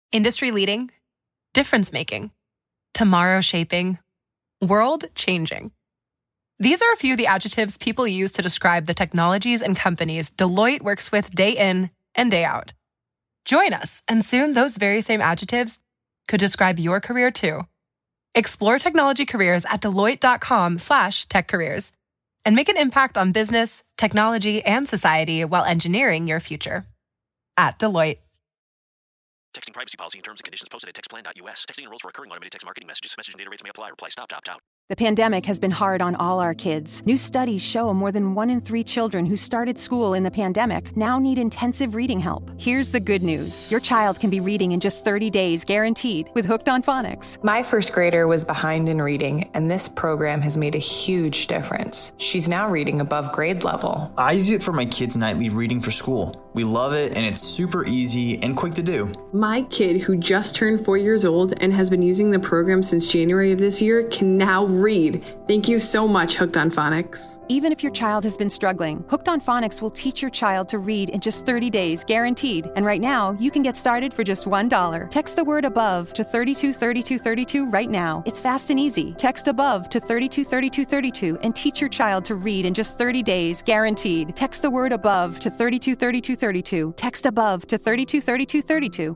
Industry leading, difference making, tomorrow shaping, world changing. These are a few of the adjectives people use to describe the technologies and companies Deloitte works with day in and day out. Join us, and soon those very same adjectives could describe your career too. Explore technology careers at Deloitte.com/techcareers and make an impact on business, technology, and society while engineering your future. At Deloitte. Texting privacy policy and terms and conditions posted at textplan.us. Texting enrolls for recurring automated text marketing messages. Message and data rates may apply. Reply stop to opt out. The pandemic has been hard on all our kids. New studies show more than 1 in 3 children who started school in the pandemic now need intensive reading help. Here's the good news. Your child can be reading in just 30 days, guaranteed, with Hooked on Phonics. My first grader was behind in reading, and this program has made a huge difference. She's now reading above grade level. I use it for my kids' nightly reading for school. We love it, and it's super easy and quick to do. My kid, who just turned 4 years old and has been using the program since January of this year, can now read. Thank you so much, Hooked on Phonics. Even if your child has been struggling, Hooked on Phonics will teach your child to read in just 30 days, guaranteed. And right now, you can get started for just $1. Text the word ABOVE to 323232 right now. It's fast and easy. Text ABOVE to 323232 and teach your child to read in just 30 days, guaranteed. Text the word ABOVE to 323232. Text ABOVE to 323232.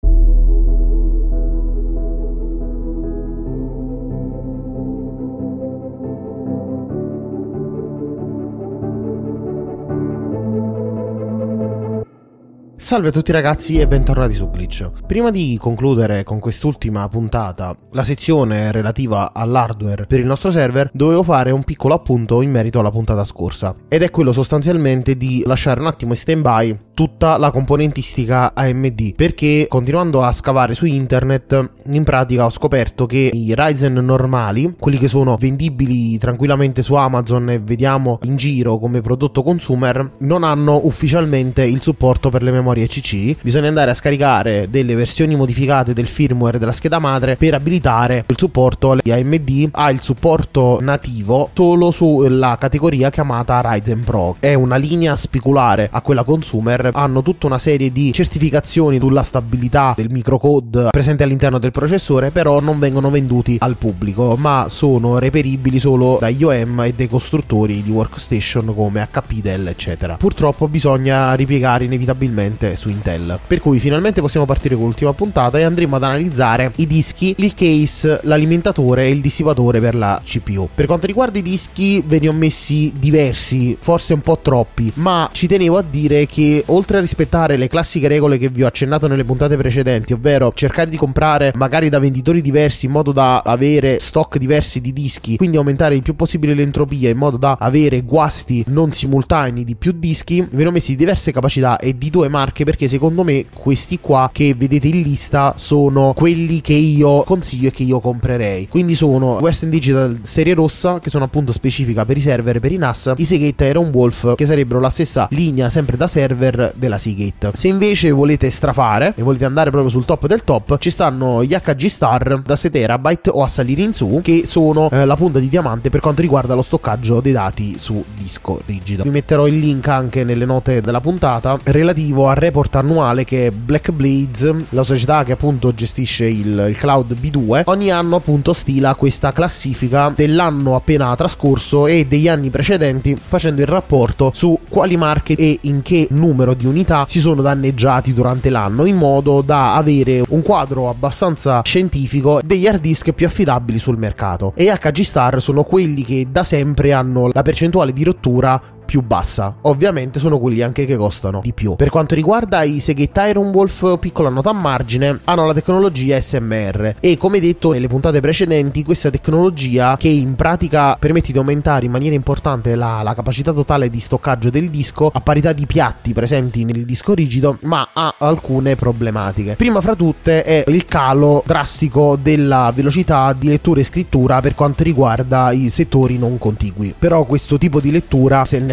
Salve a tutti ragazzi e bentornati su Glitch. Prima di concludere con quest'ultima puntata la sezione relativa all'hardware per il nostro server, dovevo fare un piccolo appunto in merito alla puntata scorsa, ed è quello sostanzialmente di lasciare un attimo in stand-by tutta la componentistica AMD, perché continuando a scavare su internet in pratica ho scoperto che i Ryzen normali, quelli che sono vendibili tranquillamente su Amazon e vediamo in giro come prodotto consumer, non hanno ufficialmente il supporto per le memorie CC. Bisogna andare a scaricare delle versioni modificate del firmware della scheda madre per abilitare il supporto. AMD ha il supporto nativo solo sulla categoria chiamata Ryzen Pro, è una linea speculare a quella consumer. Hanno tutta una serie di certificazioni sulla stabilità del microcode presente all'interno del processore, però non vengono venduti al pubblico, ma sono reperibili solo dagli OEM e dai costruttori di workstation come HP, Dell, eccetera. Purtroppo bisogna ripiegare inevitabilmente su Intel, per cui finalmente possiamo partire con l'ultima puntata e andremo ad analizzare i dischi, il case, l'alimentatore e il dissipatore per la CPU. Per quanto riguarda i dischi ve ne ho messi diversi, forse un po' troppi, ma ci tenevo a dire che oltre a rispettare le classiche regole che vi ho accennato nelle puntate precedenti, ovvero cercare di comprare magari da venditori diversi in modo da avere stock diversi di dischi, quindi aumentare il più possibile l'entropia in modo da avere guasti non simultanei di più dischi, ve ne ho messi diverse capacità e di 2 marche, perché secondo me questi qua che vedete in lista sono quelli che io consiglio e che io comprerei. Quindi sono Western Digital serie rossa, che sono appunto specifica per i server e per i NAS, i Seagate Iron Wolf, che sarebbero la stessa linea sempre da server della Seagate. Se invece volete strafare e volete andare proprio sul top del top, ci stanno gli HG Star da 6 TB o a salire in su, che sono la punta di diamante per quanto riguarda lo stoccaggio dei dati su disco rigido. Vi metterò il link anche nelle note della puntata relativo al report annuale che è Black Blades, la società che appunto gestisce il cloud B2, ogni anno appunto stila questa classifica dell'anno appena trascorso e degli anni precedenti, facendo il rapporto su quali marche e in che numero di unità si sono danneggiati durante l'anno, in modo da avere un quadro abbastanza scientifico degli hard disk più affidabili sul mercato. E HG Star sono quelli che da sempre hanno la percentuale di rottura più bassa, ovviamente sono quelli anche che costano di più. Per quanto riguarda i Seagate Iron Wolf, piccola nota a margine, hanno la tecnologia SMR e, come detto nelle puntate precedenti, questa tecnologia che in pratica permette di aumentare in maniera importante la capacità totale di stoccaggio del disco a parità di piatti presenti nel disco rigido, ma ha alcune problematiche. Prima fra tutte è il calo drastico della velocità di lettura e scrittura per quanto riguarda i settori non contigui. Però questo tipo di lettura, se nel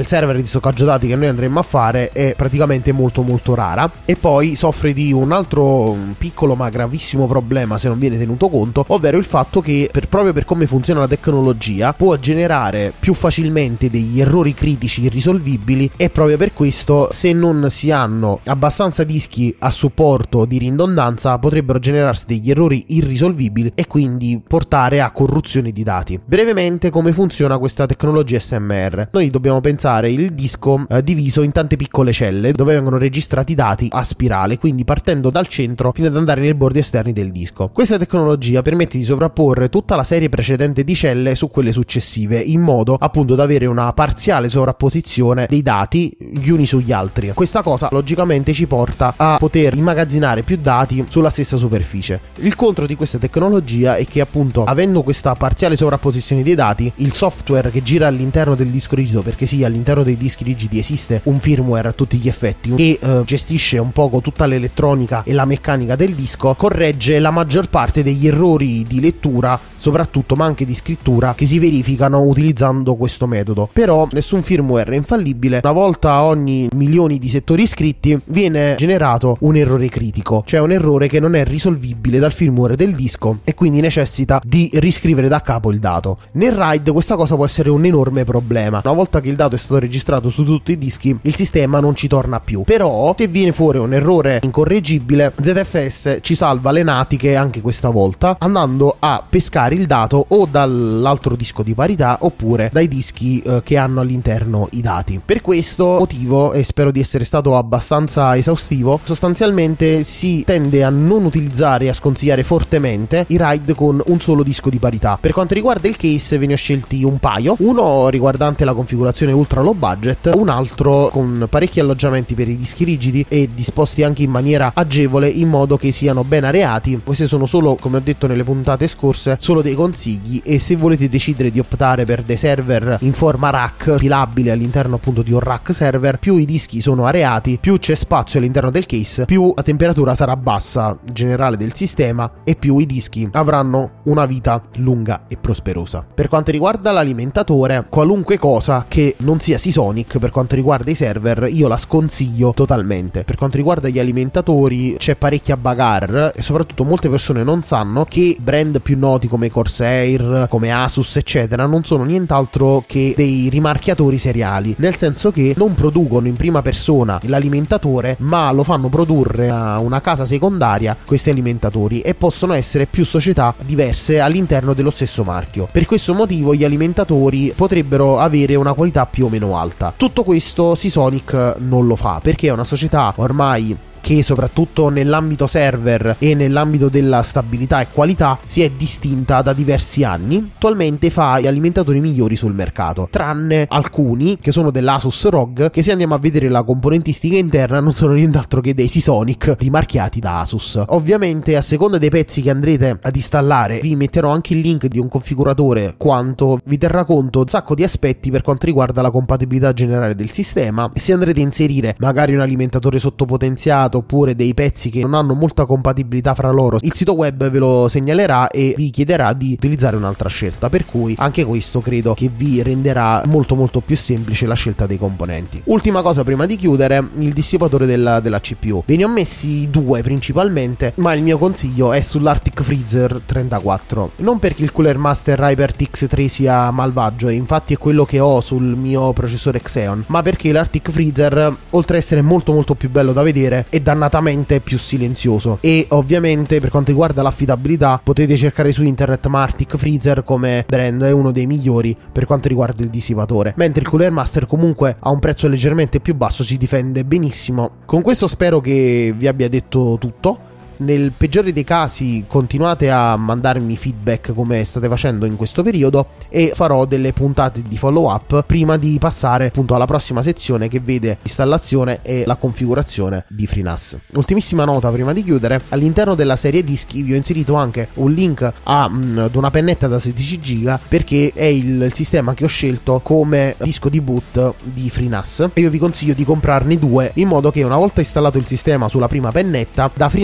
server di stoccaggio dati che noi andremo a fare è praticamente molto molto rara, e poi soffre di un altro piccolo ma gravissimo problema se non viene tenuto conto, ovvero il fatto che proprio per come funziona la tecnologia può generare più facilmente degli errori critici irrisolvibili, e proprio per questo, se non si hanno abbastanza dischi a supporto di ridondanza, potrebbero generarsi degli errori irrisolvibili e quindi portare a corruzione di dati. Brevemente, come funziona questa tecnologia SMR? Noi dobbiamo pensare il disco diviso in tante piccole celle dove vengono registrati dati a spirale, quindi partendo dal centro fino ad andare nei bordi esterni del disco. Questa tecnologia permette di sovrapporre tutta la serie precedente di celle su quelle successive, in modo appunto da avere una parziale sovrapposizione dei dati gli uni sugli altri. Questa cosa logicamente ci porta a poter immagazzinare più dati sulla stessa superficie. Il contro di questa tecnologia è che, appunto, avendo questa parziale sovrapposizione dei dati, il software che gira all'interno del disco rigido, perché sì, all'interno dei dischi rigidi esiste un firmware a tutti gli effetti che gestisce un poco tutta l'elettronica e la meccanica del disco, corregge la maggior parte degli errori di lettura soprattutto, ma anche di scrittura, che si verificano utilizzando questo metodo. Però nessun firmware è infallibile. Una volta ogni milioni di settori iscritti viene generato un errore critico, cioè un errore che non è risolvibile dal firmware del disco e quindi necessita di riscrivere da capo il dato. Nel RAID questa cosa può essere un enorme problema. Una volta che il dato è stato registrato su tutti i dischi, il sistema non ci torna più. Però se viene fuori un errore incorreggibile, ZFS ci salva le natiche anche questa volta, andando a pescare il dato o dall'altro disco di parità oppure dai dischi che hanno all'interno i dati. Per questo motivo, e spero di essere stato abbastanza esaustivo, sostanzialmente si tende a non utilizzare e a sconsigliare fortemente i RAID con un solo disco di parità. Per quanto riguarda il case, ve ne ho scelti un paio, uno riguardante la configurazione ultra low budget, un altro con parecchi alloggiamenti per i dischi rigidi e disposti anche in maniera agevole, in modo che siano ben areati. Queste sono solo, come ho detto nelle puntate scorse, solo dei consigli, e se volete decidere di optare per dei server in forma rack pilabile all'interno appunto di un rack server, più i dischi sono areati, più c'è spazio all'interno del case, più la temperatura sarà bassa generale del sistema e più i dischi avranno una vita lunga e prosperosa. Per quanto riguarda l'alimentatore, qualunque cosa che non sia Seasonic per quanto riguarda i server io la sconsiglio totalmente. Per quanto riguarda gli alimentatori c'è parecchia bagarre e soprattutto molte persone non sanno che brand più noti come Corsair, come Asus eccetera non sono nient'altro che dei rimarchiatori seriali, nel senso che non producono in prima persona l'alimentatore, ma lo fanno produrre a una casa secondaria questi alimentatori, e possono essere più società diverse all'interno dello stesso marchio. Per questo motivo gli alimentatori potrebbero avere una qualità più o meno alta. Tutto questo Seasonic non lo fa, perché è una società ormai che soprattutto nell'ambito server e nell'ambito della stabilità e qualità si è distinta da diversi anni. Attualmente fa gli alimentatori migliori sul mercato, tranne alcuni che sono dell'Asus ROG, che se andiamo a vedere la componentistica interna non sono nient'altro che dei Seasonic rimarchiati da Asus. Ovviamente a seconda dei pezzi che andrete ad installare vi metterò anche il link di un configuratore quanto vi terrà conto un sacco di aspetti per quanto riguarda la compatibilità generale del sistema. Se andrete a inserire magari un alimentatore sottopotenziato oppure dei pezzi che non hanno molta compatibilità fra loro, il sito web ve lo segnalerà e vi chiederà di utilizzare un'altra scelta, per cui anche questo credo che vi renderà molto molto più semplice la scelta dei componenti. Ultima cosa prima di chiudere, il dissipatore della CPU. Ve ne ho messi due principalmente, ma il mio consiglio è sull'Arctic Freezer 34, non perché il Cooler Master HyperX 3 sia malvagio, e infatti è quello che ho sul mio processore Xeon, ma perché l'Arctic Freezer, oltre a essere molto molto più bello da vedere, è dannatamente più silenzioso. E ovviamente per quanto riguarda l'affidabilità potete cercare su internet, ma Arctic Freezer come brand è uno dei migliori per quanto riguarda il dissipatore, mentre il Cooler Master comunque a un prezzo leggermente più basso si difende benissimo. Con questo spero che vi abbia detto tutto. Nel peggiore dei casi continuate a mandarmi feedback come state facendo in questo periodo, e farò delle puntate di follow up prima di passare appunto alla prossima sezione che vede l'installazione e la configurazione di FreeNAS. Ultimissima nota prima di chiudere: all'interno della serie dischi vi ho inserito anche un link ad una pennetta da 16 GB perché è il sistema che ho scelto come disco di boot di FreeNAS, e io vi consiglio di comprarne due, in modo che una volta installato il sistema sulla prima pennetta, da FreeNAS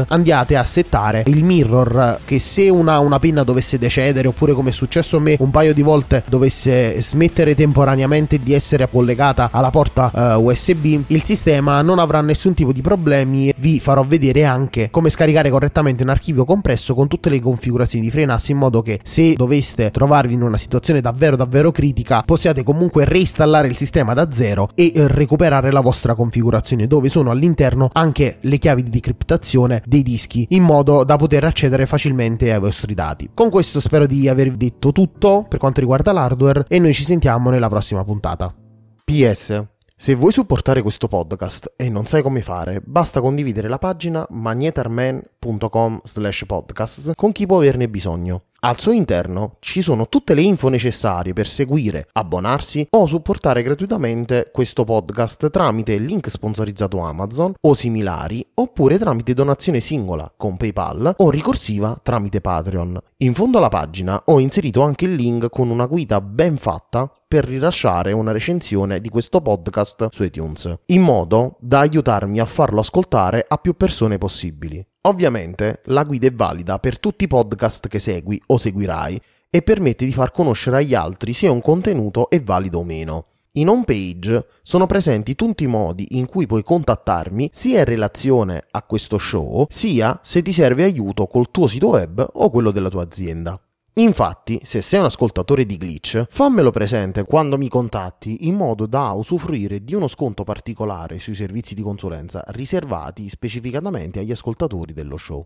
andiate a settare il mirror, che se una penna dovesse decedere, oppure come è successo a me un paio di volte dovesse smettere temporaneamente di essere collegata alla porta USB, il sistema non avrà nessun tipo di problemi. Vi farò vedere anche come scaricare correttamente un archivio compresso con tutte le configurazioni di FreeNAS, in modo che se doveste trovarvi in una situazione davvero critica possiate comunque reinstallare il sistema da zero e recuperare la vostra configurazione, dove sono all'interno anche le chiavi di decriptazione dei dischi, in modo da poter accedere facilmente ai vostri dati. Con questo spero di aver detto tutto per quanto riguarda l'hardware e noi ci sentiamo nella prossima puntata. PS: se vuoi supportare questo podcast e non sai come fare, basta condividere la pagina magnetarman.com/podcast con chi può averne bisogno. Al suo interno ci sono tutte le info necessarie per seguire, abbonarsi o supportare gratuitamente questo podcast tramite il link sponsorizzato Amazon o similari, oppure tramite donazione singola con PayPal o ricorsiva tramite Patreon. In fondo alla pagina ho inserito anche il link con una guida ben fatta per rilasciare una recensione di questo podcast su iTunes, in modo da aiutarmi a farlo ascoltare a più persone possibili. Ovviamente la guida è valida per tutti i podcast che segui o seguirai e permette di far conoscere agli altri se un contenuto è valido o meno. In home page sono presenti tutti i modi in cui puoi contattarmi, sia in relazione a questo show, sia se ti serve aiuto col tuo sito web o quello della tua azienda. Infatti, se sei un ascoltatore di Glitch, fammelo presente quando mi contatti, in modo da usufruire di uno sconto particolare sui servizi di consulenza riservati specificatamente agli ascoltatori dello show.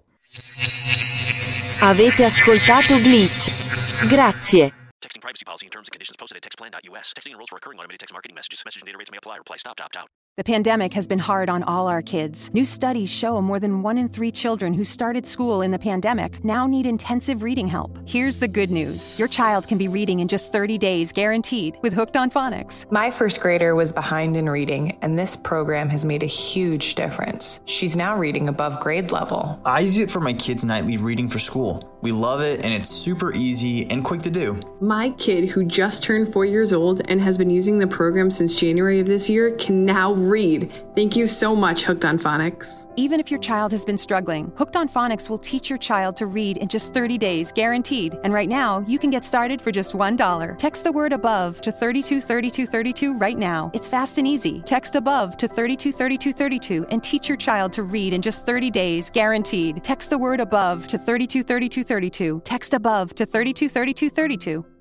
Avete ascoltato Glitch. Grazie. Texting privacy policy and terms and conditions posted at textplan.us. Texting enrolls for recurring automated text marketing messages. Message and data rates may apply. Reply stop to opt out. The pandemic has been hard on all our kids. New studies show more than 1 in 3 children who started school in the pandemic now need intensive reading help. Here's the good news. Your child can be reading in just 30 days, guaranteed, with Hooked on Phonics. My first grader was behind in reading, and this program has made a huge difference. She's now reading above grade level. I use it for my kids' nightly reading for school. We love it, and it's super easy and quick to do. My kid, who just turned 4 years old and has been using the program since January of this year, can now read. Thank you so much, Hooked on Phonics. Even if your child has been struggling, Hooked on Phonics will teach your child to read in just 30 days, guaranteed. And right now, you can get started for just $1. Text the word ABOVE to 323232 right now. It's fast and easy. Text ABOVE to 323232 and teach your child to read in just 30 days, guaranteed. Text the word ABOVE to 323232. Text ABOVE to 323232.